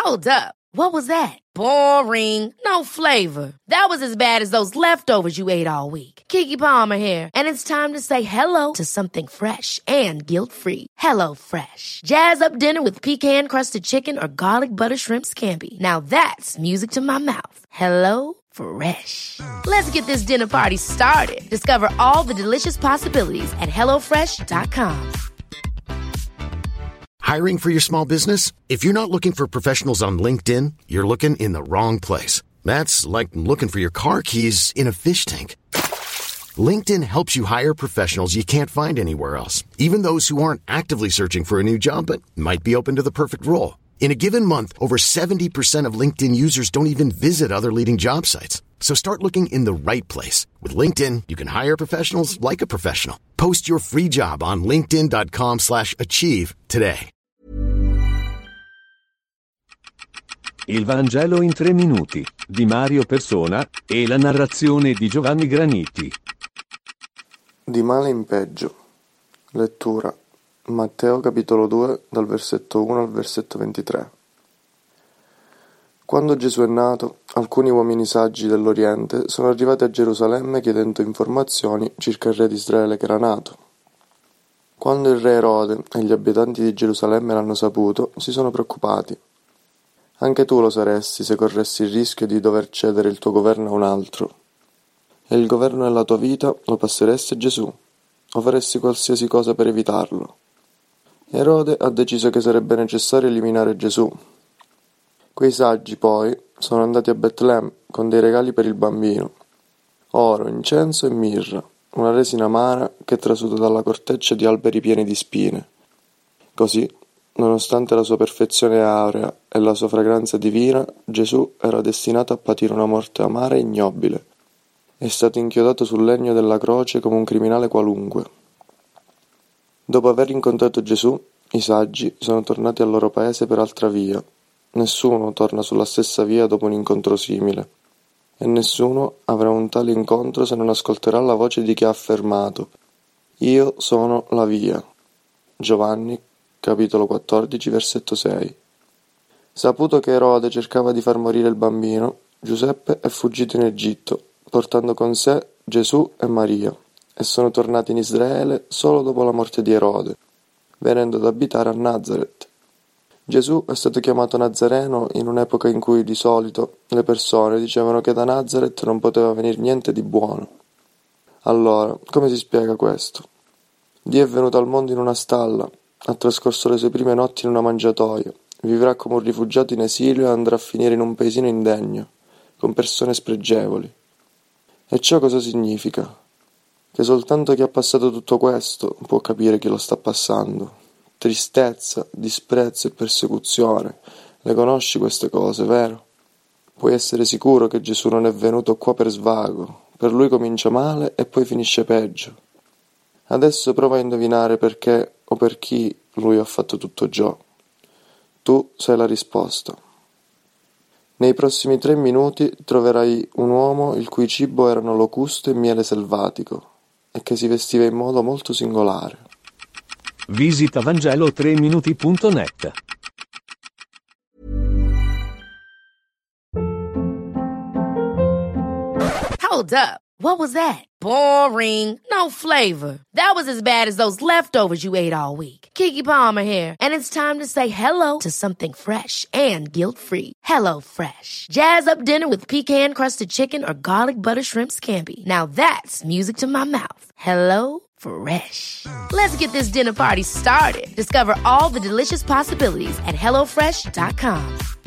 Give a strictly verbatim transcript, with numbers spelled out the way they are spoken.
Hold up. What was that? Boring. No flavor. That was as bad as those leftovers you ate all week. Keke Palmer here, and it's time to say hello to something fresh and guilt-free. Hello Fresh. Jazz up dinner with pecan-crusted chicken or garlic butter shrimp scampi. Now that's music to my mouth. Hello Fresh. Let's get this dinner party started. Discover all the delicious possibilities at hello fresh dot com. Hiring for your small business? If you're not looking for professionals on LinkedIn, you're looking in the wrong place. That's like looking for your car keys in a fish tank. LinkedIn helps you hire professionals you can't find anywhere else, even those who aren't actively searching for a new job but might be open to the perfect role. In a given month, over seventy percent of LinkedIn users don't even visit other leading job sites. So start looking in the right place. With LinkedIn, you can hire professionals like a professional. Post your free job on linkedin dot com slash achieve today. Il Vangelo in tre minuti, di Mario Persona, e la narrazione di Giovanni Graniti. Di male in peggio. Lettura. Matteo capitolo due, dal versetto uno al versetto ventitré. Quando Gesù è nato, alcuni uomini saggi dell'Oriente sono arrivati a Gerusalemme chiedendo informazioni circa il re di Israele che era nato. Quando il re Erode e gli abitanti di Gerusalemme l'hanno saputo, si sono preoccupati. Anche tu lo saresti se corressi il rischio di dover cedere il tuo governo a un altro. E il governo della tua vita lo passeresti a Gesù, o faresti qualsiasi cosa per evitarlo. Erode ha deciso che sarebbe necessario eliminare Gesù. Quei saggi, poi, sono andati a Betlemme con dei regali per il bambino: oro, incenso e mirra, una resina amara che è trasuta dalla corteccia di alberi pieni di spine. Così, nonostante la sua perfezione aurea e la sua fragranza divina, Gesù era destinato a patire una morte amara e ignobile. È stato inchiodato sul legno della croce come un criminale qualunque. Dopo aver incontrato Gesù, i saggi sono tornati al loro paese per altra via. Nessuno torna sulla stessa via dopo un incontro simile. E nessuno avrà un tale incontro se non ascolterà la voce di chi ha affermato: Io sono la via. Giovanni capitolo quattordici, versetto sei. Saputo che Erode cercava di far morire il bambino, Giuseppe è fuggito in Egitto, portando con sé Gesù e Maria, e sono tornati in Israele solo dopo la morte di Erode, venendo ad abitare a Nazaret. Gesù è stato chiamato Nazareno in un'epoca in cui di solito le persone dicevano che da Nazaret non poteva venire niente di buono. Allora, come si spiega questo? Dio è venuto al mondo in una stalla, ha trascorso le sue prime notti in una mangiatoia, vivrà come un rifugiato in esilio e andrà a finire in un paesino indegno, con persone spregevoli. E ciò cosa significa? Che soltanto chi ha passato tutto questo può capire chi lo sta passando. Tristezza, disprezzo e persecuzione. Le conosci queste cose, vero? Puoi essere sicuro che Gesù non è venuto qua per svago. Per lui comincia male e poi finisce peggio. Adesso prova a indovinare perché o per chi lui ha fatto tutto ciò. Tu sai la risposta. Nei prossimi tre minuti troverai un uomo il cui cibo erano locuste e miele selvatico e che si vestiva in modo molto singolare. Visita vangelo tre minuti punto net. Hold up. What was that? Boring. No flavor. That was as bad as those leftovers you ate all week. Keke Palmer here, and it's time to say hello to something fresh and guilt-free. Hello Fresh. Jazz up dinner with pecan-crusted chicken or garlic butter shrimp scampi. Now that's music to my mouth. Hello Fresh. Let's get this dinner party started. Discover all the delicious possibilities at hello fresh dot com.